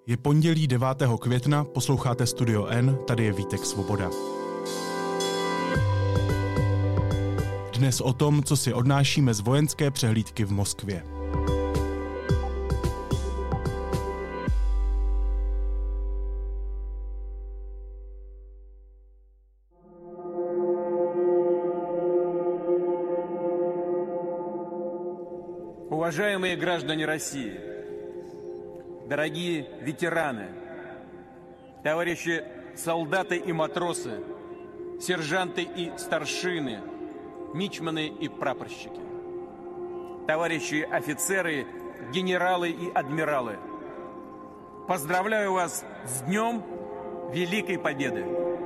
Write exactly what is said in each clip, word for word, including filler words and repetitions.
Je pondělí devátého května, posloucháte Studio N, tady je Vítek Svoboda. Dnes o tom, co si odnášíme z vojenské přehlídky v Moskvě. Уважаемые граждане России, дорогие ветераны, товарищи солдаты и матросы, сержанты и старшины, мичманы и прапорщики, товарищи офицеры, генералы и адмиралы, поздравляю вас с Днем Великой Победы.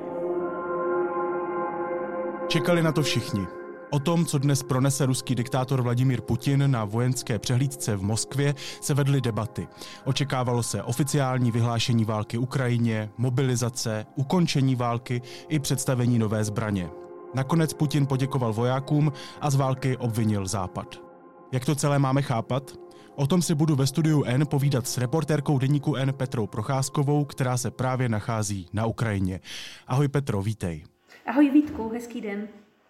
Čekali na to všichni. O tom, co dnes pronese ruský diktátor Vladimír Putin na vojenské přehlídce v Moskvě, se vedly debaty. Očekávalo se oficiální vyhlášení války Ukrajině, mobilizace, ukončení války i představení nové zbraně. Nakonec Putin poděkoval vojákům a z války obvinil Západ. Jak to celé máme chápat? O tom si budu ve studiu N povídat s reportérkou deníku N Petrou Procházkovou, která se právě nachází na Ukrajině. Ahoj Petro, vítej. Ahoj Vítku, hezký den.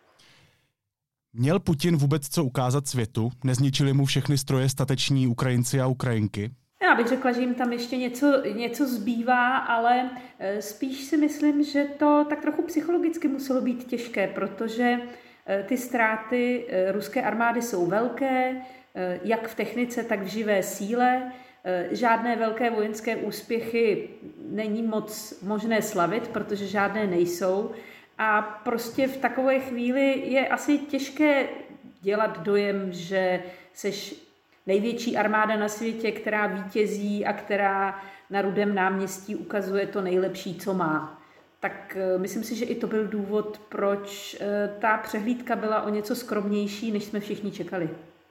Měl Putin vůbec co ukázat světu? Nezničili mu všechny stroje stateční Ukrajinci a Ukrajinky? Já bych řekla, že jim tam ještě něco, něco zbývá, ale spíš si myslím, že to tak trochu psychologicky muselo být těžké, protože ty ztráty ruské armády jsou velké, jak v technice, tak v živé síle. Žádné velké vojenské úspěchy není moc možné slavit, protože žádné nejsou. A prostě v takové chvíli je asi těžké dělat dojem, že seš největší armáda na světě, která vítězí a která na Rudém náměstí ukazuje to nejlepší, co má. Tak myslím si, že i to byl důvod, proč ta přehlídka byla o něco skromnější, než jsme všichni čekali.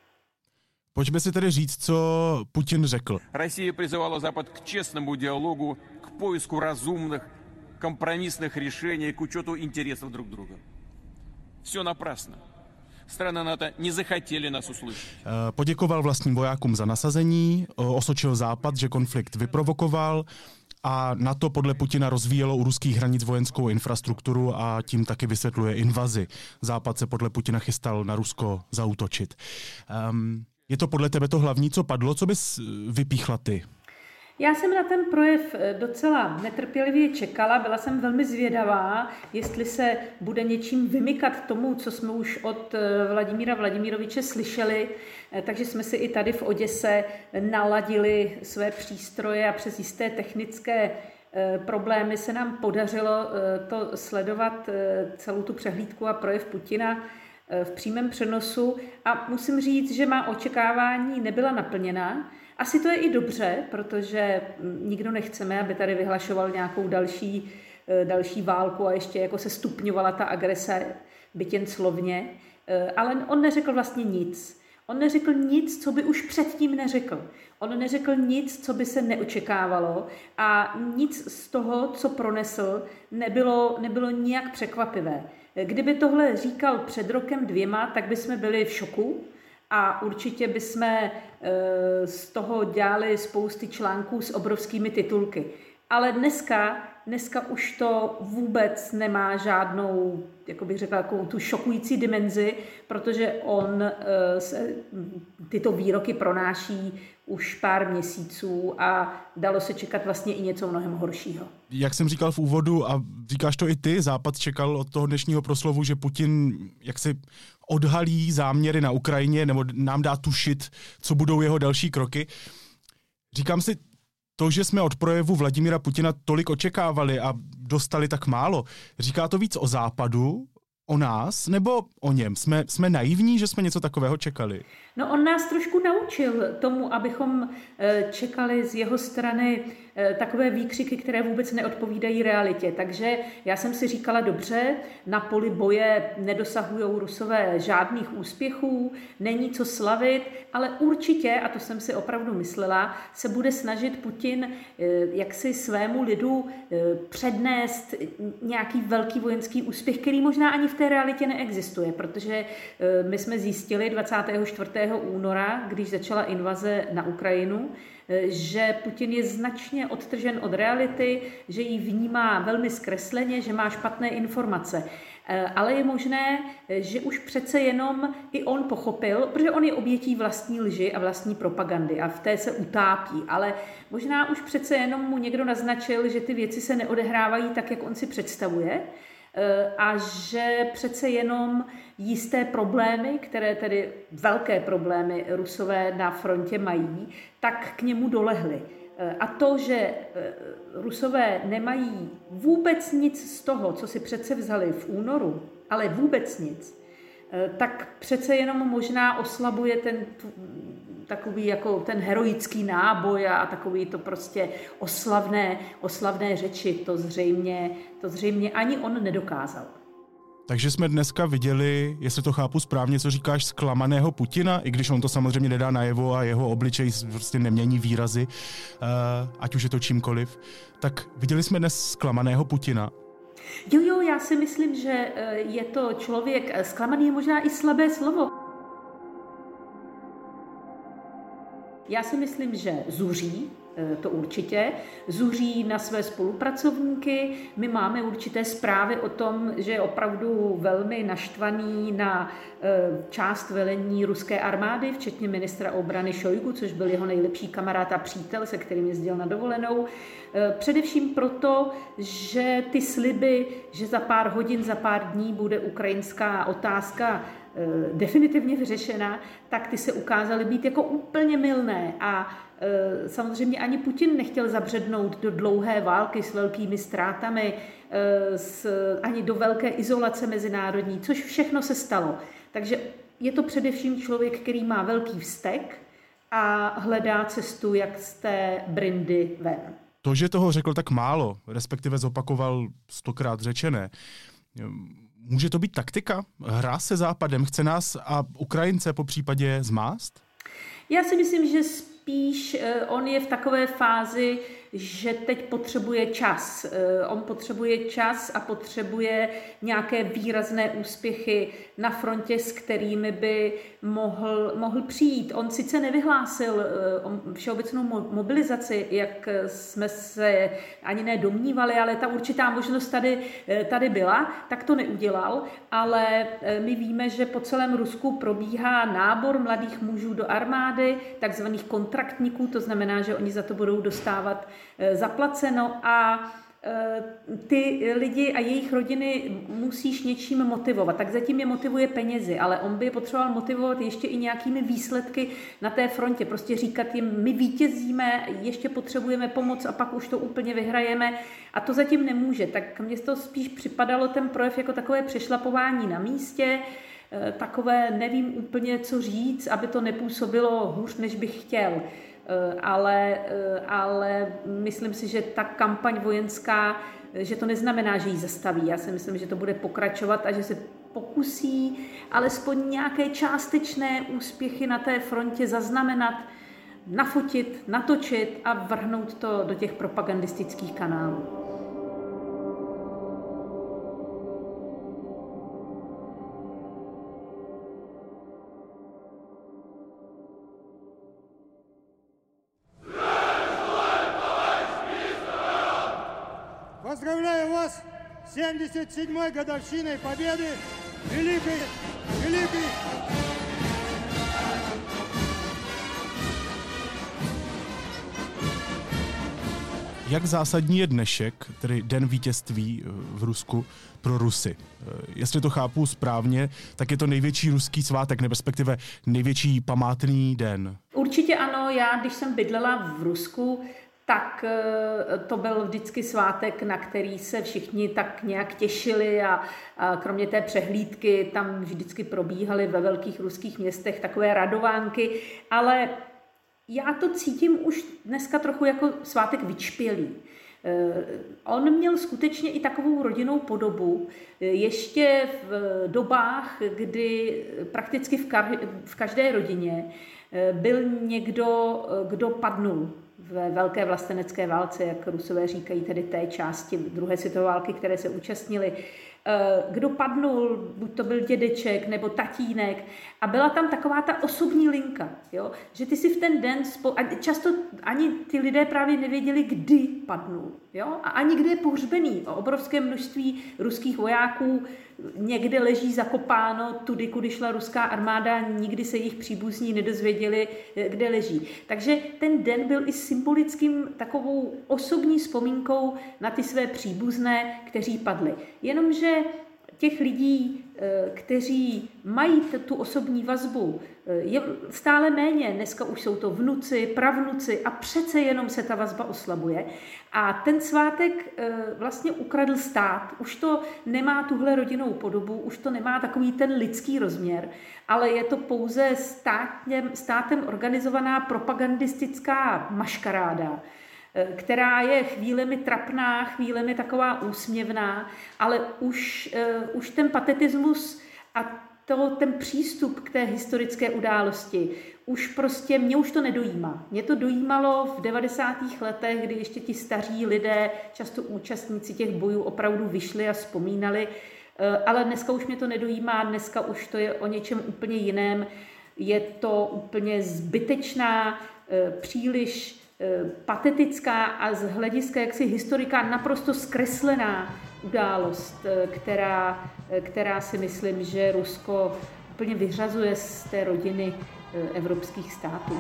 Pojďme si tedy říct, co Putin řekl. Россия призывала Запад к честному диалогу, к поиску разумных, компромиссных решений к учету интересов друг друга. Все напрасно. Strany NATO не захотели nás услышать. Poděkoval vlastním vojákům za nasazení, osočil Západ, že konflikt vyprovokoval a NATO podle Putina rozvíjelo u ruských hranic vojenskou infrastrukturu a tím taky vysvětluje invazi. Západ se podle Putina chystal na Rusko zaútočit. Um, je to podle tebe to hlavní, co padlo? Co bys vypíchla ty? Já jsem na ten projev docela netrpělivě čekala, byla jsem velmi zvědavá, jestli se bude něčím vymykat tomu, co jsme už od Vladimíra Vladimiroviče slyšeli, takže jsme si i tady v Oděse naladili své přístroje a přes jisté technické problémy se nám podařilo to sledovat celou tu přehlídku a projev Putina v přímém přenosu a musím říct, že má očekávání nebyla naplněna. Asi to je i dobře, protože nikdo nechceme, aby tady vyhlašoval nějakou další, další válku a ještě jako se stupňovala ta agrese, byť jen slovně. Ale on neřekl vlastně nic. On neřekl nic, co by už předtím neřekl. On neřekl nic, co by se neočekávalo a nic z toho, co pronesl, nebylo, nebylo nijak překvapivé. Kdyby tohle říkal před rokem dvěma, tak bychom byli v šoku. A určitě bychom z toho dělali spousty článků s obrovskými titulky. Ale dneska, dneska už to vůbec nemá žádnou, jako bych řekla, takovou tu šokující dimenzi, protože on se tyto výroky pronáší už pár měsíců a dalo se čekat vlastně i něco mnohem horšího. Jak jsem říkal v úvodu a říkáš to i ty, Západ čekal od toho dnešního proslovu, že Putin jaksi odhalí záměry na Ukrajině nebo nám dá tušit, co budou jeho další kroky. Říkám si, to, že jsme od projevu Vladimíra Putina tolik očekávali a dostali tak málo, říká to víc o Západu, o nás, nebo o něm? Jsme, jsme naivní, že jsme něco takového čekali? No on nás trošku naučil tomu, abychom čekali z jeho strany takové výkřiky, které vůbec neodpovídají realitě. Takže já jsem si říkala, dobře, na poli boje nedosahují Rusové žádných úspěchů, není co slavit, ale určitě, a to jsem si opravdu myslela, se bude snažit Putin jaksi svému lidu přednést nějaký velký vojenský úspěch, který možná ani v té realitě neexistuje, protože my jsme zjistili dvacátého čtvrtého února, když začala invaze na Ukrajinu, že Putin je značně odtržen od reality, že ji vnímá velmi zkresleně, že má špatné informace. Ale je možné, že už přece jenom i on pochopil, protože on je obětí vlastní lži a vlastní propagandy a v té se utápí, ale možná už přece jenom mu někdo naznačil, že ty věci se neodehrávají tak, jak on si představuje, a že přece jenom jisté problémy, které tedy velké problémy Rusové na frontě mají, tak k němu dolehly. A to, že Rusové nemají vůbec nic z toho, co si přece vzali v únoru, ale vůbec nic, tak přece jenom možná oslabuje ten takový jako ten heroický náboj a takový to prostě oslavné, oslavné řeči. To zřejmě, to zřejmě ani on nedokázal. Takže jsme dneska viděli, jestli to chápu správně, co říkáš, zklamaného Putina, i když on to samozřejmě nedá najevo a jeho obličej prostě nemění výrazy, ať už je to čímkoliv. Tak viděli jsme dnes zklamaného Putina. Jo, jo, já si myslím, že je to člověk, zklamaný je možná i slabé slovo. Já si myslím, že zuří, to určitě, zuří na své spolupracovníky. My máme určité zprávy o tom, že je opravdu velmi naštvaný na část velení ruské armády, včetně ministra obrany Šojgu, což byl jeho nejlepší kamarád a přítel, se kterým jezdil na dovolenou. Především proto, že ty sliby, že za pár hodin, za pár dní bude ukrajinská otázka definitivně vyřešena, tak ty se ukázaly být jako úplně mylné a e, samozřejmě ani Putin nechtěl zabřednout do dlouhé války s velkými ztrátami, e, s, ani do velké izolace mezinárodní, což všechno se stalo. Takže je to především člověk, který má velký vztek a hledá cestu, jak z té brindy ven. To, že toho řekl tak málo, respektive zopakoval stokrát řečené, může to být taktika? Hra se Západem? Chce nás a Ukrajince po případě zmást? Já si myslím, že spíš on je v takové fázi, že teď potřebuje čas. On potřebuje čas a potřebuje nějaké výrazné úspěchy na frontě, s kterými by mohl, mohl přijít. On sice nevyhlásil všeobecnou mobilizaci, jak jsme se ani nedomnívali, ale ta určitá možnost tady, tady byla, tak to neudělal, ale my víme, že po celém Rusku probíhá nábor mladých mužů do armády, takzvaných kontraktníků, to znamená, že oni za to budou dostávat zaplaceno a ty lidi a jejich rodiny musíš něčím motivovat. Tak zatím je motivuje penězi, ale on by je potřeboval motivovat ještě i nějakými výsledky na té frontě. Prostě říkat jim, my vítězíme, ještě potřebujeme pomoc a pak už to úplně vyhrajeme a to zatím nemůže. Tak mně to spíš připadalo ten projev jako takové přešlapování na místě, takové nevím úplně, co říct, aby to nepůsobilo hůř, než bych chtěl. Ale, ale myslím si, že ta kampaň vojenská, že to neznamená, že ji zastaví. Já si myslím, že to bude pokračovat a že se pokusí alespoň nějaké částečné úspěchy na té frontě zaznamenat, nafotit, natočit a vrhnout to do těch propagandistických kanálů. Поздравляю вас с семьдесят седьмой годовщиной победы великой, великой. Jak zásadní je dnešek, tedy den vítězství v Rusku, pro Rusy? Jestli to chápu správně, tak je to největší ruský svátek, respektive největší památný den. Určitě ano, já když jsem bydlela v Rusku, tak to byl vždycky svátek, na který se všichni tak nějak těšili a, a kromě té přehlídky tam vždycky probíhaly ve velkých ruských městech takové radovánky, ale já to cítím už dneska trochu jako svátek vyčpělý. On měl skutečně i takovou rodinnou podobu. Ještě v dobách, kdy prakticky v každé rodině byl někdo, kdo padnul ve velké vlastenecké válce, jak Rusové říkají, tedy té části druhé světové války, které se účastnili. kdo padnul, buď to byl dědeček nebo tatínek, a byla tam taková ta osobní linka, jo? Že ty si v ten den, spo... a často ani ty lidé právě nevěděli, kdy padnul, jo? A ani kde je pohřbený. O obrovské množství ruských vojáků někde leží zakopáno tudy, kudy šla ruská armáda, nikdy se jejich příbuzní nedozvěděli, kde leží. Takže ten den byl i symbolickým takovou osobní vzpomínkou na ty své příbuzné, kteří padli. Jenomže těch lidí, kteří mají tu osobní vazbu, je stále méně. Dneska už jsou to vnuci, pravnuci a přece jenom se ta vazba oslabuje. A ten svátek vlastně ukradl stát. Už to nemá tuhle rodinnou podobu, už to nemá takový ten lidský rozměr, ale je to pouze státem, státem organizovaná propagandistická maškaráda, která je chvílemi trapná, chvílemi taková úsměvná, ale už, uh, už ten patetismus a to, ten přístup k té historické události, už prostě, mě už to nedojímá. Mě to dojímalo v devadesátých letech, kdy ještě ti staří lidé, často účastníci těch bojů, opravdu vyšli a vzpomínali, uh, ale dneska už mě to nedojímá, dneska už to je o něčem úplně jiném. Je to úplně zbytečná, uh, příliš patetická a z hlediska jaksi historika naprosto zkreslená událost, která, která si myslím, že Rusko úplně vyřazuje z té rodiny evropských států.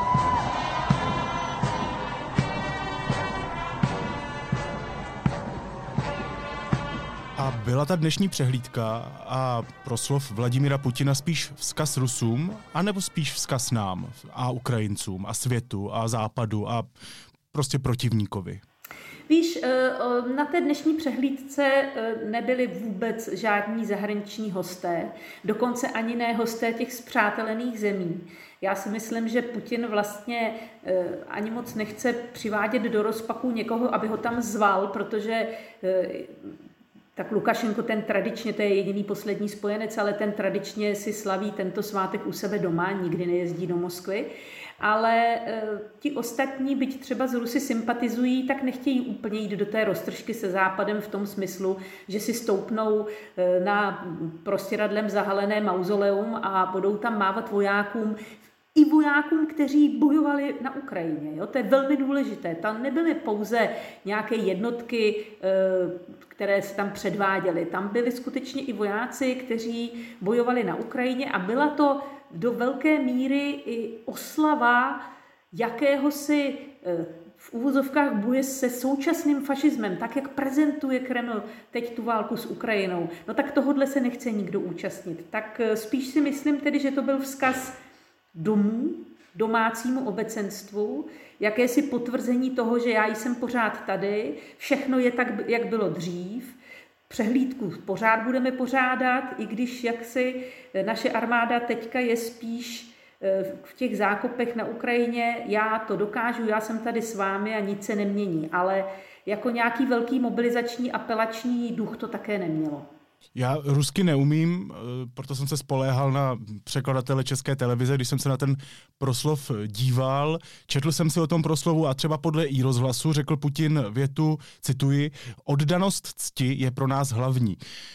A byla ta dnešní přehlídka a proslov Vladimira Putina spíš vzkaz Rusům, anebo spíš vzkaz nám a Ukrajincům a světu a západu a prostě protivníkovi? Víš, na té dnešní přehlídce nebyli vůbec žádní zahraniční hosté, dokonce ani ne hosté těch spřátelených zemí. Já si myslím, že Putin vlastně ani moc nechce přivádět do rozpaku někoho, aby ho tam zval, protože tak Lukašenko, ten tradičně, to je jediný poslední spojenec, ale ten tradičně si slaví tento svátek u sebe doma, nikdy nejezdí do Moskvy. Ale e, ti ostatní, byť třeba z Rusy sympatizují, tak nechtějí úplně jít do té roztržky se Západem v tom smyslu, že si stoupnou e, na prostěradlem zahalené mauzoleum a budou tam mávat vojákům, i vojákům, kteří bojovali na Ukrajině. Jo? To je velmi důležité. Tam nebyly pouze nějaké jednotky, které se tam předváděly. Tam byli skutečně i vojáci, kteří bojovali na Ukrajině a byla to do velké míry i oslava jakéhosi v uvozovkách boje se současným fašismem, tak jak prezentuje Kreml teď tu válku s Ukrajinou. No tak tohodle se nechce nikdo účastnit. Tak spíš si myslím tedy, že to byl vzkaz domů, domácímu obecenstvu, jakési potvrzení toho, že já jsem pořád tady, všechno je tak, jak bylo dřív, přehlídku pořád budeme pořádat, i když jaksi naše armáda teďka je spíš v těch zákopech na Ukrajině, já to dokážu, já jsem tady s vámi a nic se nemění, ale jako nějaký velký mobilizační apelační duch to také nemělo. Já rusky neumím, proto jsem se spoléhal na překladatele České televize, když jsem se na ten proslov díval. Četl jsem si o tom proslovu a třeba podle iRozhlasu řekl Putin větu, cituji, oddanost cti je pro nás hlavní.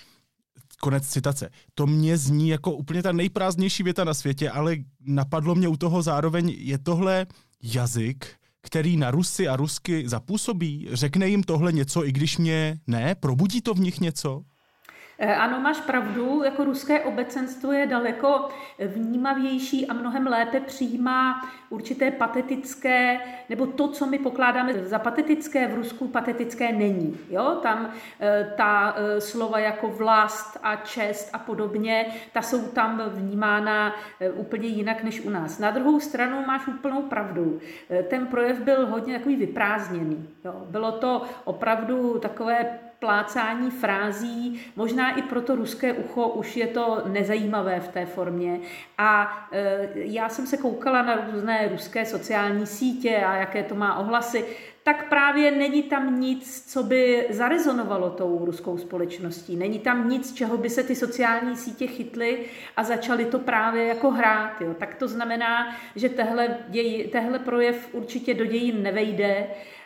Konec citace. To mě zní jako úplně ta nejprázdnější věta na světě, ale napadlo mě u toho zároveň, je tohle jazyk, který na Rusy a Rusky zapůsobí? Řekne jim tohle něco, i když mě ne? Probudí to v nich něco? Ano, máš pravdu, jako ruské obecenstvo je daleko vnímavější a mnohem lépe přijímá určité patetické, nebo to, co my pokládáme za patetické, v Rusku patetické není. Jo? Tam ta slova jako vlast a čest a podobně, ta jsou tam vnímána úplně jinak než u nás. Na druhou stranu máš úplnou pravdu. Ten projev byl hodně takový vyprázdněný. Jo? Bylo to opravdu takové plácání frází, možná i pro to ruské ucho už je to nezajímavé v té formě. A e, já jsem se koukala na různé ruské sociální sítě a jaké to má ohlasy, tak právě není tam nic, co by zarezonovalo tou ruskou společností. Není tam nic, čeho by se ty sociální sítě chytly a začaly to právě jako hrát. Jo. Tak to znamená, že tehle, děj, tehle projev určitě do dějin nevejde.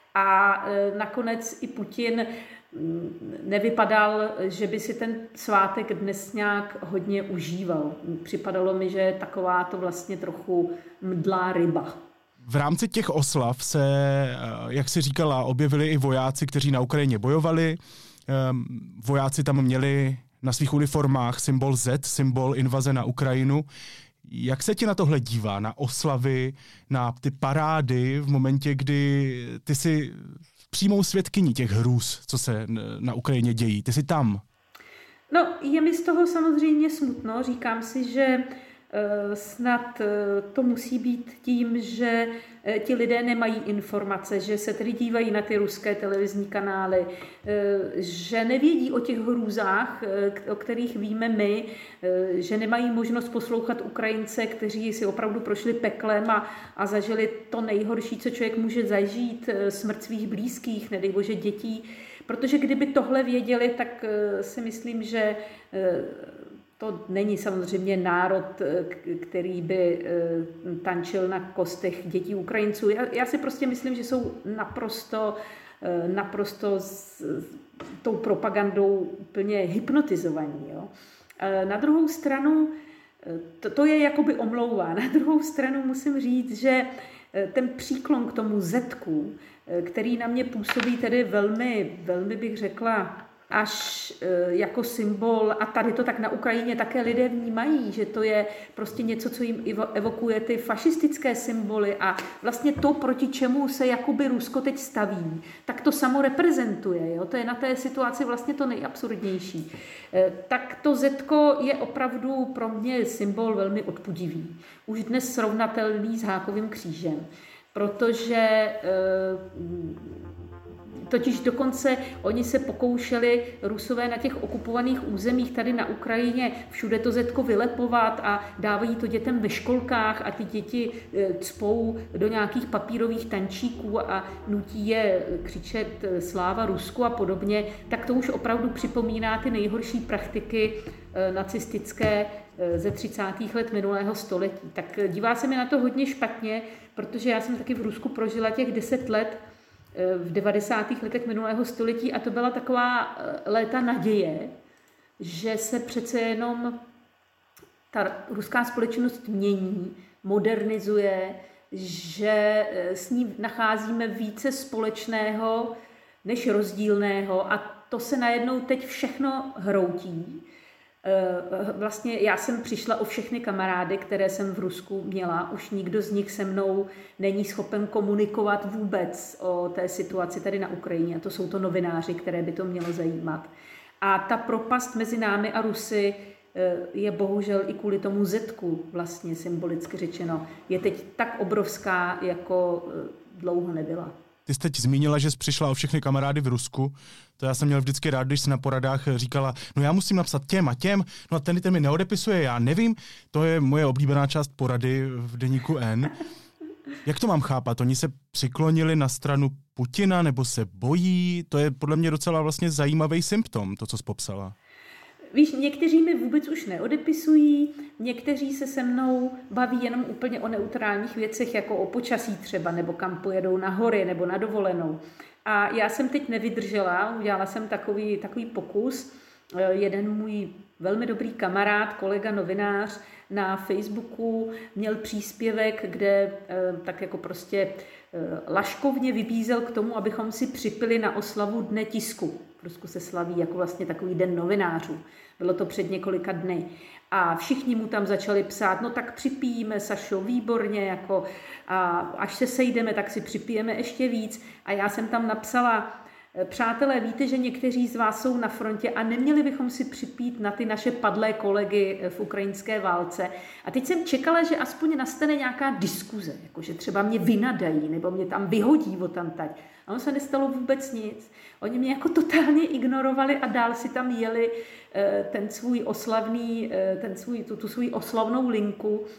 A nakonec i Putin nevypadal, že by si ten svátek dnes nějak hodně užíval. Připadalo mi, že je taková to vlastně trochu mdlá ryba. V rámci těch oslav se, jak si říkala, objevili i vojáci, kteří na Ukrajině bojovali. Vojáci tam měli na svých uniformách symbol Z, symbol invaze na Ukrajinu. Jak se ti na tohle dívá, na oslavy, na ty parády v momentě, kdy ty jsi přímou svědkyní těch hrůz, co se na Ukrajině dějí? Ty jsi tam. No, je mi z toho samozřejmě smutno. Říkám si, že snad to musí být tím, že ti lidé nemají informace, že se tedy dívají na ty ruské televizní kanály, že nevědí o těch hrůzách, o kterých víme my, že nemají možnost poslouchat Ukrajince, kteří si opravdu prošli peklem a, a zažili to nejhorší, co člověk může zažít, smrt svých blízkých, nedej bože dětí. Protože kdyby tohle věděli, tak si myslím, že to není samozřejmě národ, který by tančil na kostech dětí Ukrajinců. Já, já si prostě myslím, že jsou naprosto, naprosto s tou propagandou úplně hypnotizovaní. Jo. Na druhou stranu, to, to je jakoby omlouvá. Na druhou stranu musím říct, že ten příklon k tomu zetku, který na mě působí tedy velmi, velmi bych řekla, až jako symbol, a tady to tak na Ukrajině také lidé vnímají, že to je prostě něco, co jim evokuje ty fašistické symboly a vlastně to, proti čemu se jakoby Rusko teď staví, tak to samo reprezentuje. Jo? To je na té situaci vlastně to nejabsurdnější. Tak to zetko je opravdu pro mě symbol velmi odpudivý. Už dnes srovnatelný s hákovým křížem, protože totiž dokonce oni se pokoušeli Rusové na těch okupovaných územích tady na Ukrajině všude to zetko vylepovat a dávají to dětem ve školkách a ty děti cpou do nějakých papírových tančíků a nutí je křičet sláva Rusku a podobně, tak to už opravdu připomíná ty nejhorší praktiky nacistické ze třicátých let minulého století. Tak dívá se mi na to hodně špatně, protože já jsem taky v Rusku prožila těch deset let v devadesátých letech minulého století a to byla taková léta naděje, že se přece jenom ta ruská společnost mění, modernizuje, že s ní nacházíme více společného než rozdílného a to se najednou teď všechno hroutí. Vlastně já jsem přišla o všechny kamarády, které jsem v Rusku měla. Už nikdo z nich se mnou není schopen komunikovat vůbec o té situaci tady na Ukrajině. A to jsou to novináři, které by to mělo zajímat. A ta propast mezi námi a Rusy je bohužel i kvůli tomu zetku, vlastně symbolicky řečeno, je teď tak obrovská, jako dlouho nebyla. Ty jsi teď zmínila, že jsi přišla o všechny kamarády v Rusku. To já jsem měl vždycky rád, když jsi na poradách říkala, no já musím napsat těm a těm, no a ten, ten mi neodepisuje, já nevím. To je moje oblíbená část porady v deníku N. Jak to mám chápat? Oni se přiklonili na stranu Putina nebo se bojí? To je podle mě docela vlastně zajímavý symptom, to, co jsi popsala. Víš, někteří mi vůbec už neodepisují, někteří se se mnou baví jenom úplně o neutrálních věcech, jako o počasí třeba, nebo kam pojedou na hory, nebo na dovolenou. A já jsem teď nevydržela, udělala jsem takový, takový pokus. Jeden můj velmi dobrý kamarád, kolega novinář na Facebooku měl příspěvek, kde tak jako prostě laškovně vybízel k tomu, abychom si připili na oslavu Dne tisku. V Rusku se slaví jako vlastně takový den novinářů. Bylo to před několika dny. A všichni mu tam začali psát, no tak připijíme, Sašo, výborně, jako, a až se sejdeme, tak si připijeme ještě víc. A já jsem tam napsala, přátelé, víte, že někteří z vás jsou na frontě a neměli bychom si připít na ty naše padlé kolegy v ukrajinské válce. A teď jsem čekala, že aspoň nastane nějaká diskuze, jako že třeba mě vynadají nebo mě tam vyhodí odtamtať. A ono se nestalo vůbec nic. Oni mě jako totálně ignorovali a dál si tam jeli ten svůj oslavný, ten svůj, tu, tu svůj oslavnou linku.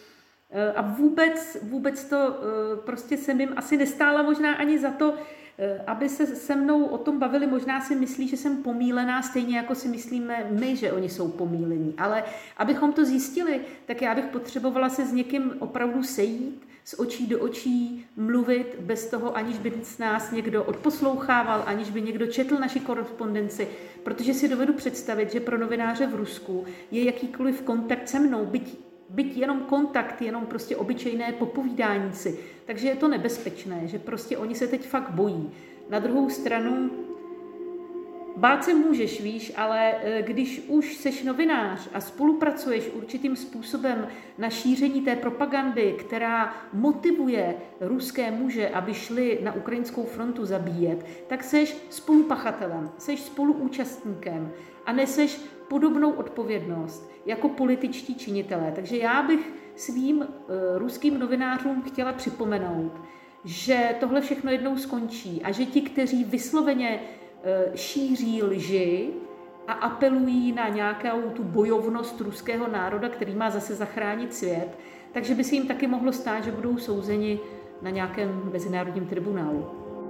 A vůbec, vůbec to prostě jsem jim asi nestála možná ani za to, aby se se mnou o tom bavili. Možná si myslí, že jsem pomílená, stejně jako si myslíme my, že oni jsou pomílení. Ale abychom to zjistili, tak já bych potřebovala se s někým opravdu sejít, z očí do očí mluvit, bez toho, aniž by nás někdo odposlouchával, aniž by někdo četl naši korespondenci, protože si dovedu představit, že pro novináře v Rusku je jakýkoliv kontakt se mnou, byť, byť jenom kontakt, jenom prostě obyčejné popovídání si. Takže je to nebezpečné, že prostě oni se teď fakt bojí. Na druhou stranu, bát se můžeš, víš, ale když už seš novinář a spolupracuješ určitým způsobem na šíření té propagandy, která motivuje ruské muže, aby šli na ukrajinskou frontu zabíjet, tak seš spolupachatelem, seš spoluúčastníkem a neseš podobnou odpovědnost jako političtí činitelé. Takže já bych svým uh, ruským novinářům chtěla připomenout, že tohle všechno jednou skončí a že ti, kteří vysloveně šíří lži a apelují na nějakou tu bojovnost ruského národa, který má zase zachránit svět, takže by se jim taky mohlo stát, že budou souzeni na nějakém mezinárodním tribunálu.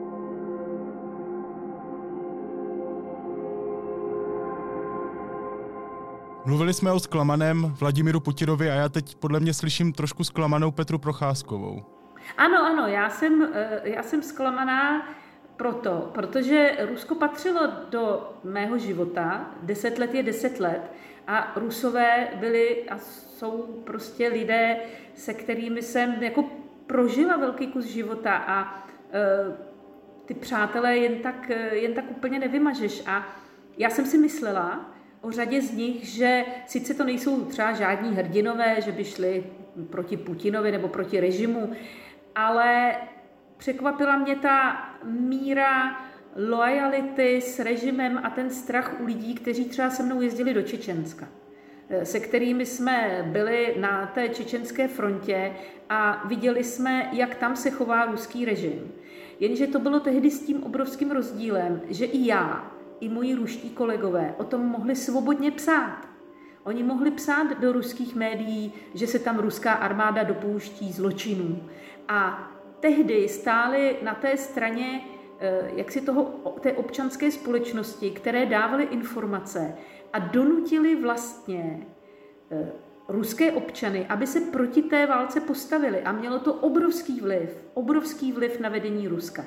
Mluvili jsme o zklamaném Vladimiru Putinovi a já teď podle mě slyším trošku zklamanou Petru Procházkovou. Ano, ano, já jsem, já jsem zklamaná proto, protože Rusko patřilo do mého života, deset let je deset let a Rusové byli a jsou prostě lidé, se kterými jsem jako prožila velký kus života a e, ty přátelé jen tak, jen tak úplně nevymažeš. A já jsem si myslela o řadě z nich, že sice to nejsou třeba žádní hrdinové, že by šli proti Putinovi nebo proti režimu, ale překvapila mě ta míra loajality s režimem a ten strach u lidí, kteří třeba se mnou jezdili do Čečenska, se kterými jsme byli na té čečenské frontě a viděli jsme, jak tam se chová ruský režim. Jenže to bylo tehdy s tím obrovským rozdílem, že i já, i moji ruští kolegové o tom mohli svobodně psát. Oni mohli psát do ruských médií, že se tam ruská armáda dopouští zločinů. A tehdy stáli na té straně jaksi toho, té občanské společnosti, které dávaly informace a donutili vlastně ruské občany, aby se proti té válce postavili. A mělo to obrovský vliv, obrovský vliv na vedení Ruska.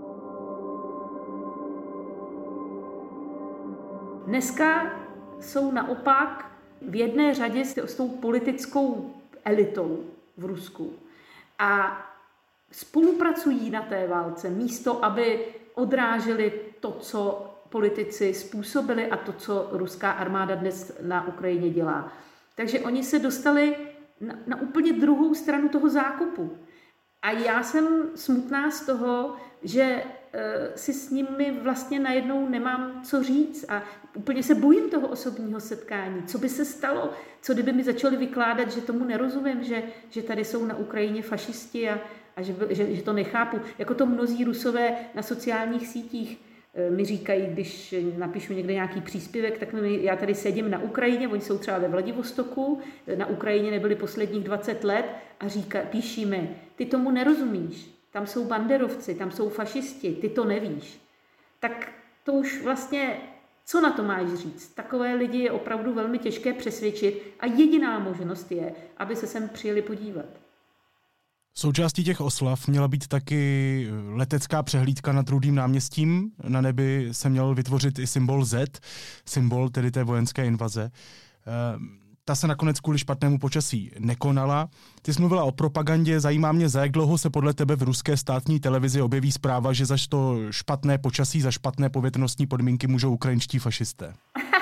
Dneska jsou naopak v jedné řadě s tou politickou elitou v Rusku a spolupracují na té válce, místo aby odráželi to, co politici způsobili a to, co ruská armáda dnes na Ukrajině dělá. Takže oni se dostali na, na úplně druhou stranu toho zákopu. A já jsem smutná z toho, že e, si s nimi vlastně najednou nemám co říct a úplně se bojím toho osobního setkání. Co by se stalo? Co kdyby mi začali vykládat, že tomu nerozumím, že, že tady jsou na Ukrajině fašisti a, a že, že, že to nechápu. Jako to mnozí Rusové na sociálních sítích e, mi říkají, když napíšu někde nějaký příspěvek, tak mi, já tady sedím na Ukrajině, oni jsou třeba ve Vladivostoku, na Ukrajině nebyli posledních dvacet let a říká, píší mi, ty tomu nerozumíš, tam jsou banderovci, tam jsou fašisti, ty to nevíš. Tak to už vlastně, co na to máš říct? Takové lidi je opravdu velmi těžké přesvědčit a jediná možnost je, aby se sem přijeli podívat. Součástí těch oslav měla být taky letecká přehlídka nad Rudým náměstím. Na nebi se měl vytvořit i symbol Z, symbol tedy té vojenské invaze. Ta se nakonec kvůli špatnému počasí nekonala. Ty jsi mluvila o propagandě, zajímá mě, za jak dlouho se podle tebe v ruské státní televizi objeví zpráva, že za to špatné počasí, za špatné povětrnostní podmínky můžou ukrajinští fašisté?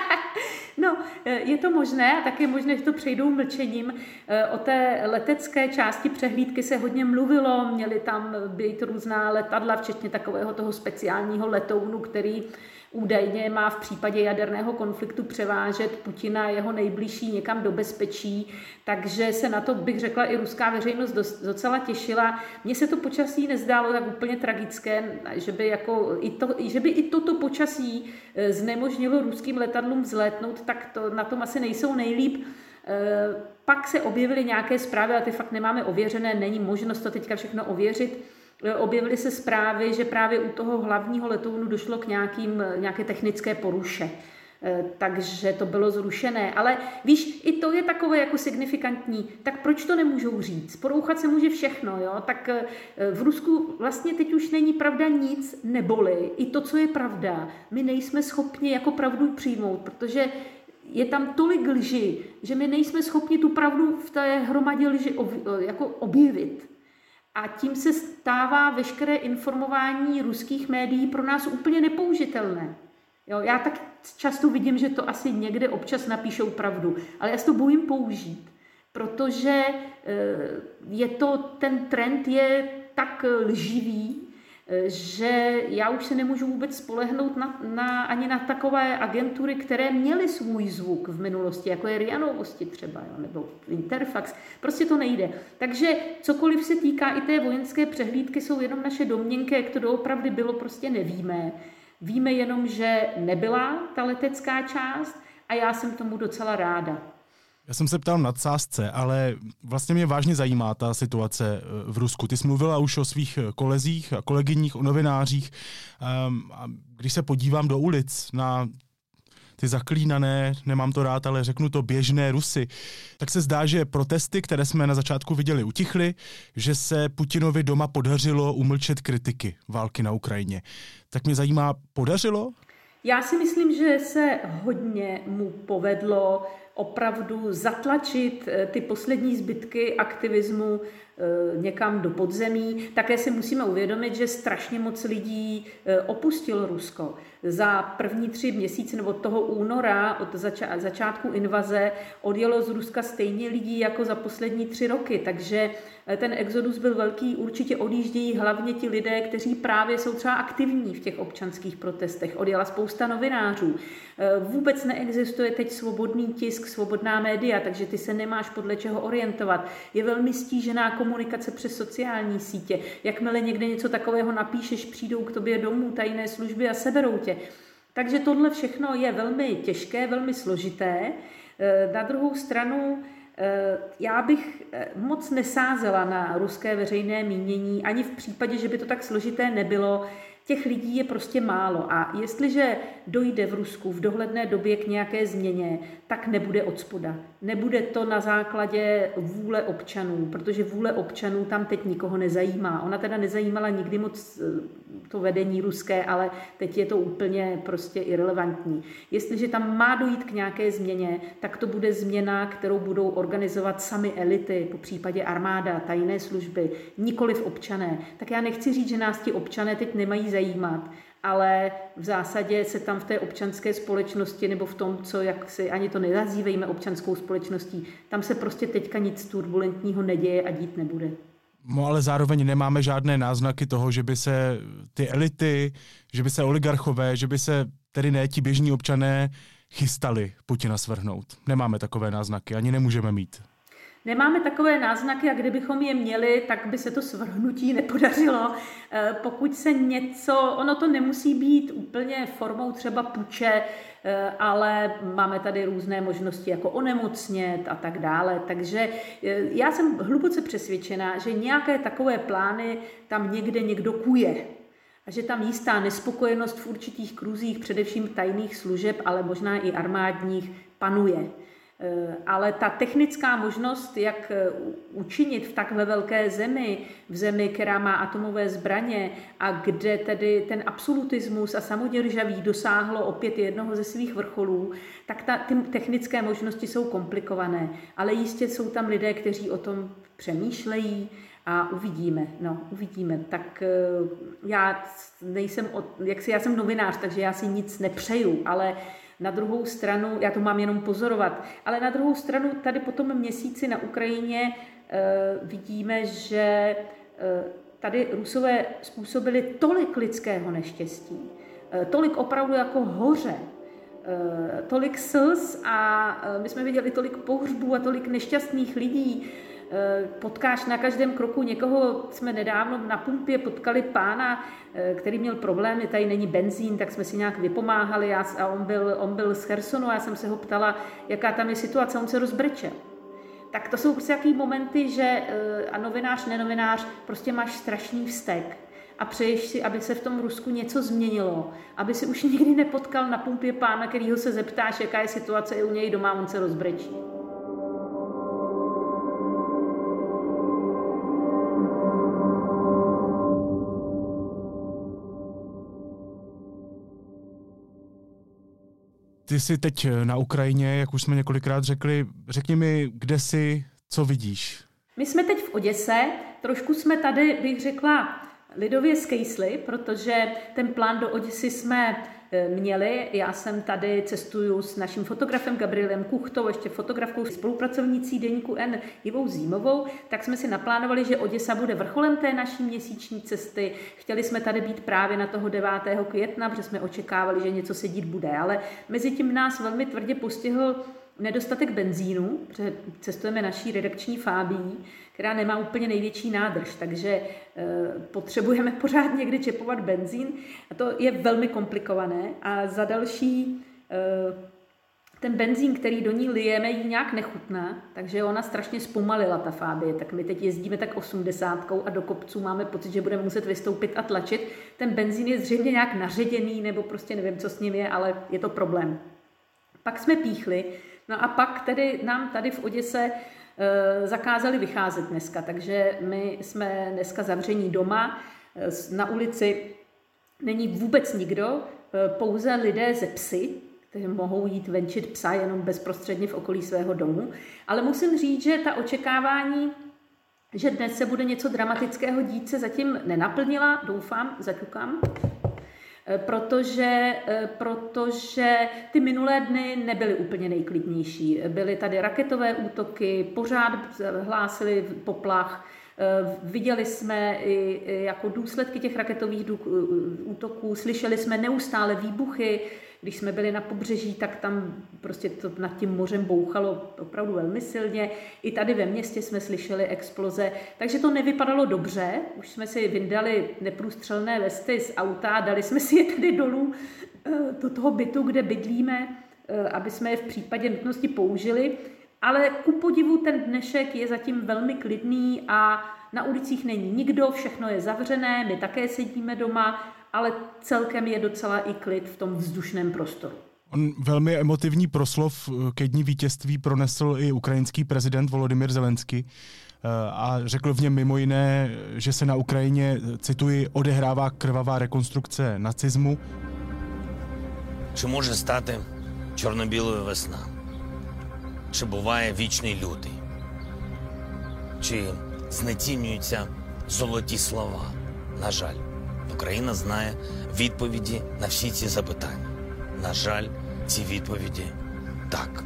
No, je to možné a tak je možné, že to přejdou mlčením. O té letecké části přehlídky se hodně mluvilo, měly tam být různá letadla, včetně takového toho speciálního letounu, který údajně má v případě jaderného konfliktu převážet Putina a jeho nejbližší někam do bezpečí, takže se na to, bych řekla, i ruská veřejnost docela těšila. Mně se to počasí nezdálo tak úplně tragické, že by, jako i, to, že by i toto počasí znemožnilo ruským letadlům vzlétnout, tak to, na tom asi nejsou nejlíp. Pak se objevily nějaké zprávy, ale ty fakt nemáme ověřené, není možnost to teďka všechno ověřit. Objevily se zprávy, že právě u toho hlavního letounu došlo k nějakým, nějaké technické poruše. Takže to bylo zrušené. Ale víš, i to je takové jako signifikantní. Tak proč to nemůžou říct? Porouchat se může všechno, jo? Tak v Rusku vlastně teď už není pravda nic, neboli i to, co je pravda, my nejsme schopni jako pravdu přijmout, protože je tam tolik lži, že my nejsme schopni tu pravdu v té hromadě lži jako objevit. A tím se stává veškeré informování ruských médií pro nás úplně nepoužitelné. Jo, já tak často vidím, že to asi někde občas napíšou pravdu, ale já se to bojím použít, protože je to, ten trend je tak lživý, že já už se nemůžu vůbec spolehnout na, na, ani na takové agentury, které měly svůj zvuk v minulosti, jako je R I A Novosti třeba, jo, nebo Interfax. Prostě to nejde. Takže cokoliv se týká i té vojenské přehlídky, jsou jenom naše domněnky, jak to doopravdy bylo, prostě nevíme. Víme jenom, že nebyla ta letecká část a já jsem tomu docela ráda. Já jsem se ptal v nadsázce, ale vlastně mě vážně zajímá ta situace v Rusku. Ty jsi mluvila už o svých kolezích a kolegyních, o novinářích. A když se podívám do ulic na ty zaklínané, nemám to rád, ale řeknu to, běžné Rusy, tak se zdá, že protesty, které jsme na začátku viděli, utichly, že se Putinovi doma podařilo umlčet kritiky války na Ukrajině. Tak mě zajímá, podařilo? Já si myslím, že se hodně mu povedlo opravdu zatlačit ty poslední zbytky aktivismu někam do podzemí. Také si musíme uvědomit, že strašně moc lidí opustilo Rusko. Za první tři měsíce nebo toho února od zača- začátku invaze odjelo z Ruska stejně lidí jako za poslední tři roky, takže ten exodus byl velký, určitě odjíždějí hlavně ti lidé, kteří právě jsou třeba aktivní v těch občanských protestech. Odjela spousta novinářů. Vůbec neexistuje teď svobodný tisk, svobodná média, takže ty se nemáš podle čeho orientovat. Je velmi stížená komunikace přes sociální sítě. Jakmile někde něco takového napíšeš, přijdou k tobě domů tajné služby a seberou tě. Takže tohle všechno je velmi těžké, velmi složité. Na druhou stranu já bych moc nesázela na ruské veřejné mínění, ani v případě, že by to tak složité nebylo. Těch lidí je prostě málo a jestliže dojde v Rusku v dohledné době k nějaké změně, tak nebude odspoda. Nebude to na základě vůle občanů, protože vůle občanů tam teď nikoho nezajímá. Ona teda nezajímala nikdy moc to vedení ruské, ale teď je to úplně prostě irelevantní. Jestliže tam má dojít k nějaké změně, tak to bude změna, kterou budou organizovat sami elity, po případě armáda, tajné služby, nikoliv občané. Tak já nechci říct, že nás ti občané teď nemají zajímat, ale v zásadě se tam v té občanské společnosti nebo v tom, co jak si ani to nenazývejme občanskou společností, tam se prostě teďka nic turbulentního neděje a dít nebude. No ale zároveň nemáme žádné náznaky toho, že by se ty elity, že by se oligarchové, že by se tedy ne ti běžní občané chystali Putina svrhnout. Nemáme takové náznaky, ani nemůžeme mít. Nemáme takové náznaky a kdybychom je měli, tak by se to svrhnutí nepodařilo. Pokud se něco, ono to nemusí být úplně formou třeba puče, ale máme tady různé možnosti jako onemocnět a tak dále. Takže já jsem hluboce přesvědčená, že nějaké takové plány tam někde někdo kuje. A že tam jistá nespokojenost v určitých kruzích, především tajných služeb, ale možná i armádních, panuje. Ale ta technická možnost, jak učinit v takhle velké zemi, v zemi, která má atomové zbraně a kde tedy ten absolutismus a samoděržaví dosáhlo opět jednoho ze svých vrcholů, tak ta, ty technické možnosti jsou komplikované. Ale jistě jsou tam lidé, kteří o tom přemýšlejí a uvidíme. No, uvidíme. Tak já nejsem, jak si, já jsem novinář, takže já si nic nepřeju, ale na druhou stranu, já to mám jenom pozorovat, ale na druhou stranu tady po tom měsíci na Ukrajině e, vidíme, že e, tady Rusové způsobili tolik lidského neštěstí, e, tolik opravdu jako hoře, e, tolik slz a e, my jsme viděli tolik pohřbů a tolik nešťastných lidí, potkáš na každém kroku někoho. Jsme nedávno na pumpě potkali pána, který měl problémy, tady není benzín, tak jsme si nějak vypomáhali a on byl, on byl z Chersonu a já jsem se ho ptala, jaká tam je situace, on se rozbrečel. Tak to jsou prostě takový momenty, že a novinář, nenovinář, prostě máš strašný vztek a přeješ si, aby se v tom Rusku něco změnilo, aby si už nikdy nepotkal na pumpě pána, kterýho se zeptáš, jaká je situace i u něj doma, on se rozbrečí. Ty jsi teď na Ukrajině, jak už jsme několikrát řekli. Řekni mi, kde jsi, co vidíš? My jsme teď v Oděse, trošku jsme tady, bych řekla, lidově skejsli, protože ten plán do Oděsy jsme měli. Já jsem tady cestuju s naším fotografem Gabrielem Kuchtou, ještě fotografkou spolupracovnicí Deníku N Ivou Zímovou, tak jsme si naplánovali, že Oděsa bude vrcholem té naší měsíční cesty. Chtěli jsme tady být právě na toho devátého května, protože jsme očekávali, že něco se dít bude, ale mezi tím nás velmi tvrdě postihl nedostatek benzínu, protože cestujeme naší redakční Fábií, která nemá úplně největší nádrž, takže e, potřebujeme pořád někdy čepovat benzín a to je velmi komplikované. A za další, e, ten benzín, který do ní lijeme, jí nějak nechutná, takže ona strašně zpomalila, ta Fábie, tak my teď jezdíme tak osmdesátkou a do kopců máme pocit, že budeme muset vystoupit a tlačit. Ten benzín je zřejmě nějak naředěný, nebo prostě nevím, co s ním je, ale je to problém. Pak jsme píchli, no a pak tedy nám tady v Oděse e, zakázali vycházet dneska, takže my jsme dneska zavření doma, e, na ulici není vůbec nikdo, e, pouze lidé ze psy, kteří mohou jít venčit psa jenom bezprostředně v okolí svého domu, ale musím říct, že ta očekávání, že dnes se bude něco dramatického dít, se zatím nenaplnila, doufám, zaťukám. Protože, protože ty minulé dny nebyly úplně nejklidnější. Byly tady raketové útoky, pořád hlásili poplach. Viděli jsme i jako důsledky těch raketových útoků, slyšeli jsme neustále výbuchy. Když jsme byli na pobřeží, tak tam prostě to nad tím mořem bouchalo opravdu velmi silně. I tady ve městě jsme slyšeli exploze, takže to nevypadalo dobře. Už jsme si vyndali neprůstřelné vesty z auta, dali jsme si je tady dolů do toho bytu, kde bydlíme, aby jsme je v případě nutnosti použili. Ale ku podivu ten dnešek je zatím velmi klidný a na ulicích není nikdo, všechno je zavřené, my také sedíme doma, ale celkem je docela i klid v tom vzdušném prostoru. On velmi emotivní proslov ke dní vítězství pronesl i ukrajinský prezident Volodymyr Zelenský a řekl v něm mimo jiné, že se na Ukrajině, cituji, odehrává krvavá rekonstrukce nacismu. Чи може стати чорно-білою весна? Чи буває вічний лютий? Чи знецінюються золоті слова? На жаль, Україна знає відповіді на всі ці запитання. На жаль, ці відповіді – так.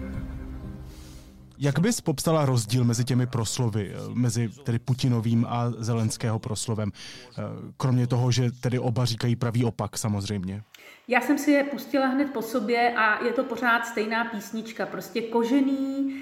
Jak bys popsala rozdíl mezi těmi proslovy, mezi tedy Putinovým a Zelenského proslovem? Kromě toho, že tedy oba říkají pravý opak samozřejmě. Já jsem si je pustila hned po sobě a je to pořád stejná písnička. Prostě kožený,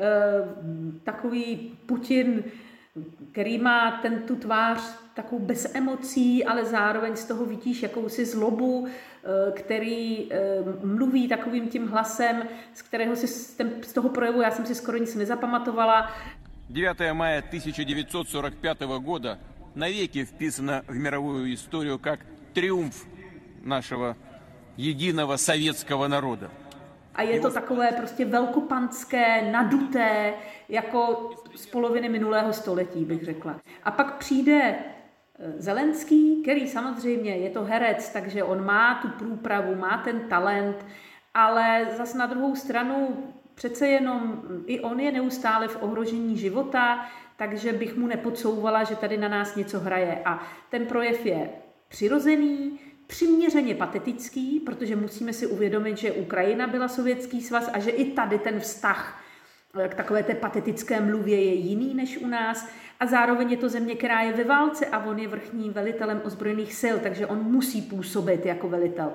takový Putin, který má ten tu tvář takovou bez emocí, ale zároveň z toho vidíš jakousi zlobu, který mluví takovým tím hlasem, z kterého si z toho projevu já jsem si skoro nic nezapamatovala. девятое мая тысяча девятьсот сорок пятого года навеки вписано в мировую историю как триумф нашего единого советского народа. A je to takové prostě velkopanské, naduté, jako z poloviny minulého století, bych řekla. A pak přijde Zelenský, který samozřejmě je to herec, takže on má tu průpravu, má ten talent, ale zas na druhou stranu přece jenom i on je neustále v ohrožení života, takže bych mu nepodsouvala, že tady na nás něco hraje. A ten projev je přirozený, přiměřeně patetický, protože musíme si uvědomit, že Ukrajina byla Sovětský svaz a že i tady ten vztah k takové té patetické mluvě je jiný než u nás. A zároveň je to země, která je ve válce a on je vrchním velitelem ozbrojených sil, takže on musí působit jako velitel.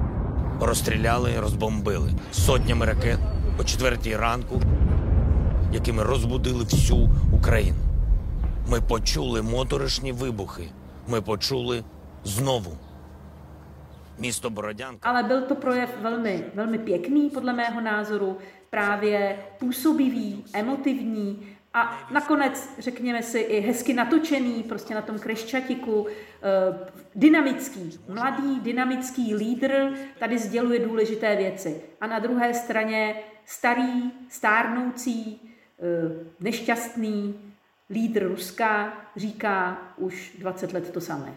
Розстріляли, розбомбили сотнями ракет по четвертій ранку. якими розбудили всю Україну. Ми почули моторошні вибухи. Ми почули знову místo Borodянka. Ale byl to projev velmi, velmi pěkný, podle mého názoru, právě působivý, emotivní a nakonec, řekněme si, i hezky natočený, prostě na tom Chreščatiku, dynamický, mladý, dynamický lídr tady sděluje důležité věci. A na druhé straně starý, stárnoucí, nešťastný lídr Ruska říká už dvacet let to samé.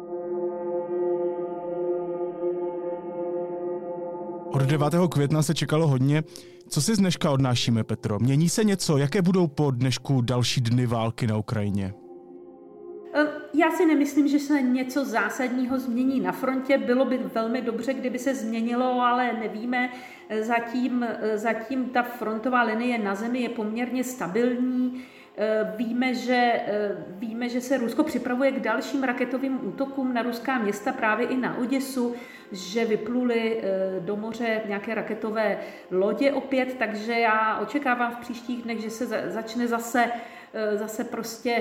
Od devátého května se čekalo hodně. Co si z dneška odnášíme, Petro? Mění se něco? Jaké budou po dnešku další dny války na Ukrajině? Já si nemyslím, že se něco zásadního změní na frontě. Bylo by velmi dobře, kdyby se změnilo, ale nevíme. Zatím, zatím ta frontová linie na zemi je poměrně stabilní. Víme že, víme, že se Rusko připravuje k dalším raketovým útokům na ruská města, právě i na Oděsu, že vypluly do moře nějaké raketové lodě opět, takže já očekávám v příštích dnech, že se začne zase, zase prostě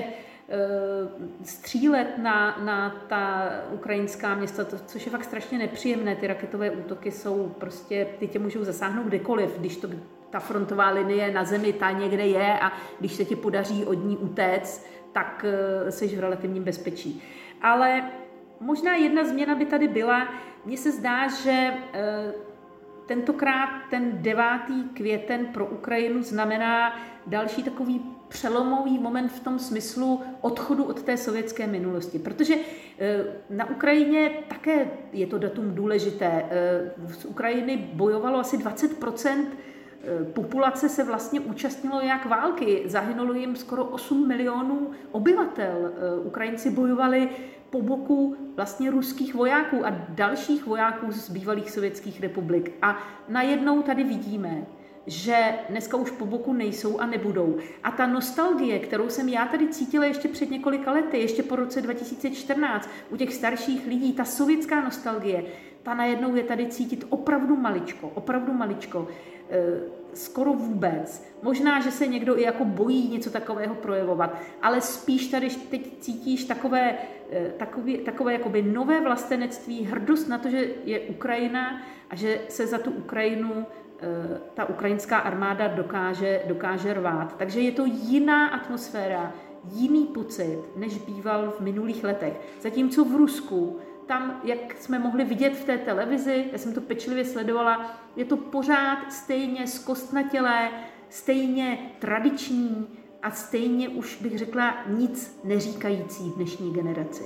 střílet na, na ta ukrajinská města, to, což je fakt strašně nepříjemné. Ty raketové útoky jsou prostě, ty tě můžou zasáhnout kdekoliv, když to ta frontová linie na zemi ta někde je a když se ti podaří od ní utéct, tak jsi v relativním bezpečí. Ale možná jedna změna by tady byla. Mně se zdá, že tentokrát ten devátý květen pro Ukrajinu znamená další takový přelomový moment v tom smyslu odchodu od té sovětské minulosti. Protože na Ukrajině také je to datum důležité. Z Ukrajiny bojovalo asi dvacet procent populace se vlastně účastnilo jak války. Zahynulo jim skoro osm milionů obyvatel. Ukrajinci bojovali po boku vlastně ruských vojáků a dalších vojáků z bývalých sovětských republik. A najednou tady vidíme, že dneska už po boku nejsou a nebudou. A ta nostalgie, kterou jsem já tady cítila ještě před několika lety, ještě po roce dva tisíce čtrnáct, u těch starších lidí, ta sovětská nostalgie, ta najednou je tady cítit opravdu maličko, opravdu maličko, skoro vůbec. Možná, že se někdo i jako bojí něco takového projevovat, ale spíš tady teď cítíš takové, takové, takové jakoby nové vlastenectví, hrdost na to, že je Ukrajina a že se za tu Ukrajinu ta ukrajinská armáda dokáže, dokáže rvát. Takže je to jiná atmosféra, jiný pocit, než býval v minulých letech. Zatímco v Rusku, tam, jak jsme mohli vidět v té televizi, já jsem to pečlivě sledovala, je to pořád stejně zkostnatělé, stejně tradiční a stejně už bych řekla nic neříkající dnešní generaci.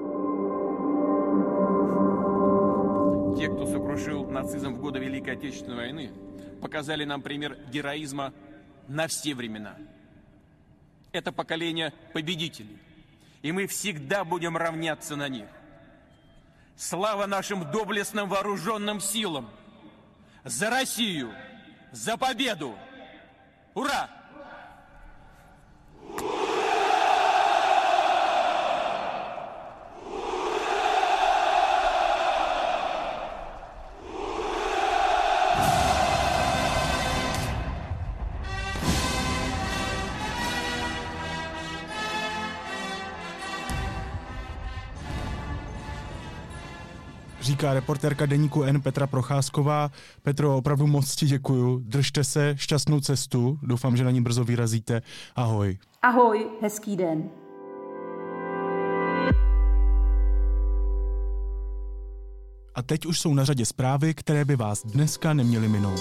Те, кто сокрушил нацизм в годы Великой Отечественной войны, показали нам пример героизма на все времена. Это поколение победителей, и мы всегда будем равняться на них. Слава нашим доблестным вооруженным силам! За Россию! За победу! Ура! Říká reportérka deníku N Petra Procházková. Petro, opravdu moc ti děkuju. Držte se, šťastnou cestu. Doufám, že na ní brzo vyrazíte. Ahoj. Ahoj, hezký den. A teď už jsou na řadě zprávy, které by vás dneska neměly minout.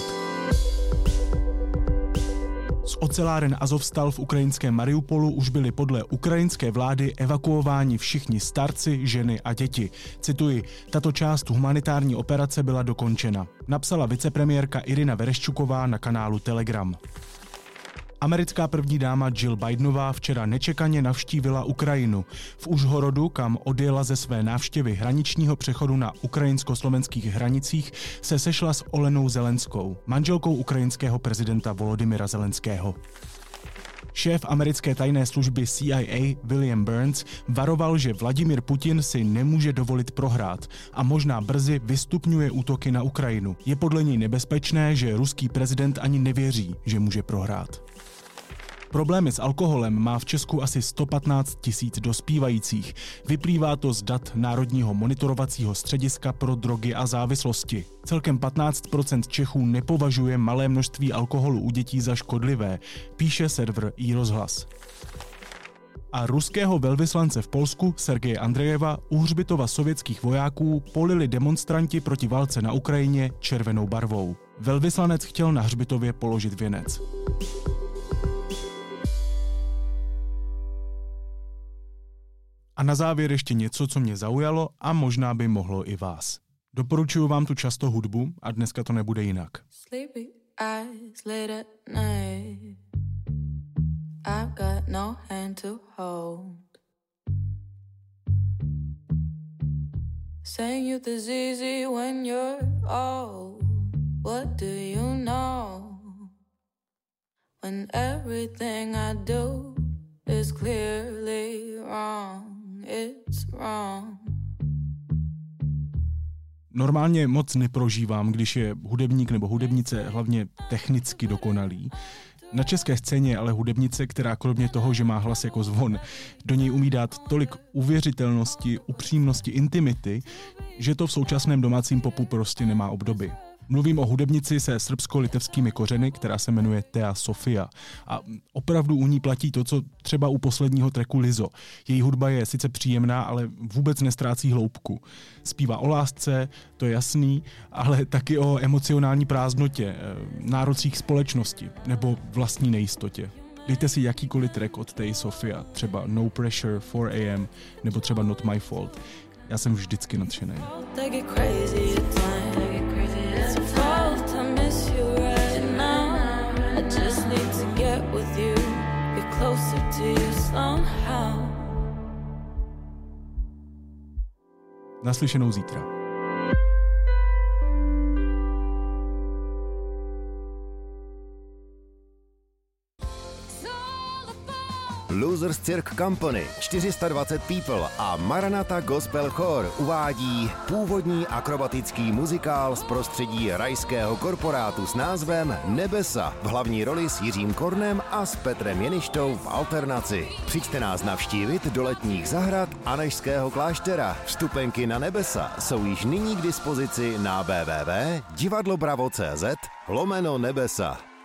Z oceláren Azovstal v ukrajinském Mariupolu už byli podle ukrajinské vlády evakuováni všichni starci, ženy a děti. Cituji, tato část humanitární operace byla dokončena, napsala vicepremiérka Irina Vereščuková na kanálu Telegram. Americká první dáma Jill Bidenová včera nečekaně navštívila Ukrajinu. V Užhorodu, kam odjela ze své návštěvy hraničního přechodu na ukrajinsko-slovenských hranicích, se sešla s Olenou Zelenskou, manželkou ukrajinského prezidenta Volodymyra Zelenského. Šéf americké tajné služby C I A William Burns varoval, že Vladimír Putin si nemůže dovolit prohrát a možná brzy vystupňuje útoky na Ukrajinu. Je podle něj nebezpečné, že ruský prezident ani nevěří, že může prohrát. Problémy s alkoholem má v Česku asi sto patnáct tisíc dospívajících. Vyplývá to z dat Národního monitorovacího střediska pro drogy a závislosti. Celkem patnáct procent Čechů nepovažuje malé množství alkoholu u dětí za škodlivé, píše server iRozhlas. A ruského velvyslance v Polsku Sergeje Andrejeva u hřbitova sovětských vojáků polili demonstranti proti válce na Ukrajině červenou barvou. Velvyslanec chtěl na hřbitově položit věnec. A na závěr ještě něco, co mě zaujalo a možná by mohlo i vás. Doporučuju vám tu často hudbu a dneska to nebude jinak. Sleepy eyes late at night. I've got no hand to hold. Saying youth is easy when you're old. What do you know? When everything I do is clearly wrong. It's wrong. Normálně moc neprožívám, když je hudebník nebo hudebnice hlavně technicky dokonalý. Na české scéně je ale hudebnice, která kromě toho, že má hlas jako zvon, do něj umí dát tolik uvěřitelnosti, upřímnosti, intimity, že to v současném domácím popu prostě nemá obdoby. Mluvím o hudebnici se srbsko-litevskými kořeny, která se jmenuje Thea Sofia. A opravdu u ní platí to, co třeba u posledního tracku Lizzo. Její hudba je sice příjemná, ale vůbec nestrácí hloubku. Zpívá o lásce, to je jasný, ale taky o emocionální prázdnotě, nárocích společnosti nebo vlastní nejistotě. Dejte si jakýkoliv track od Thea Sofia, třeba No Pressure, four a m nebo třeba Not My Fault. Já jsem vždycky nadšený. Naslyšenou zítra. Losers Cirque Company, čtyři sta dvacet People a Maranatha Gospel Choir uvádí původní akrobatický muzikál z prostředí rajského korporátu s názvem Nebesa v hlavní roli s Jiřím Kornem a s Petrem Jeništou v alternaci. Přijďte nás navštívit do letních zahrad Anežského kláštera. Vstupenky na Nebesa jsou již nyní k dispozici na w w w tečka divadlobravo tečka cz lomeno nebesa.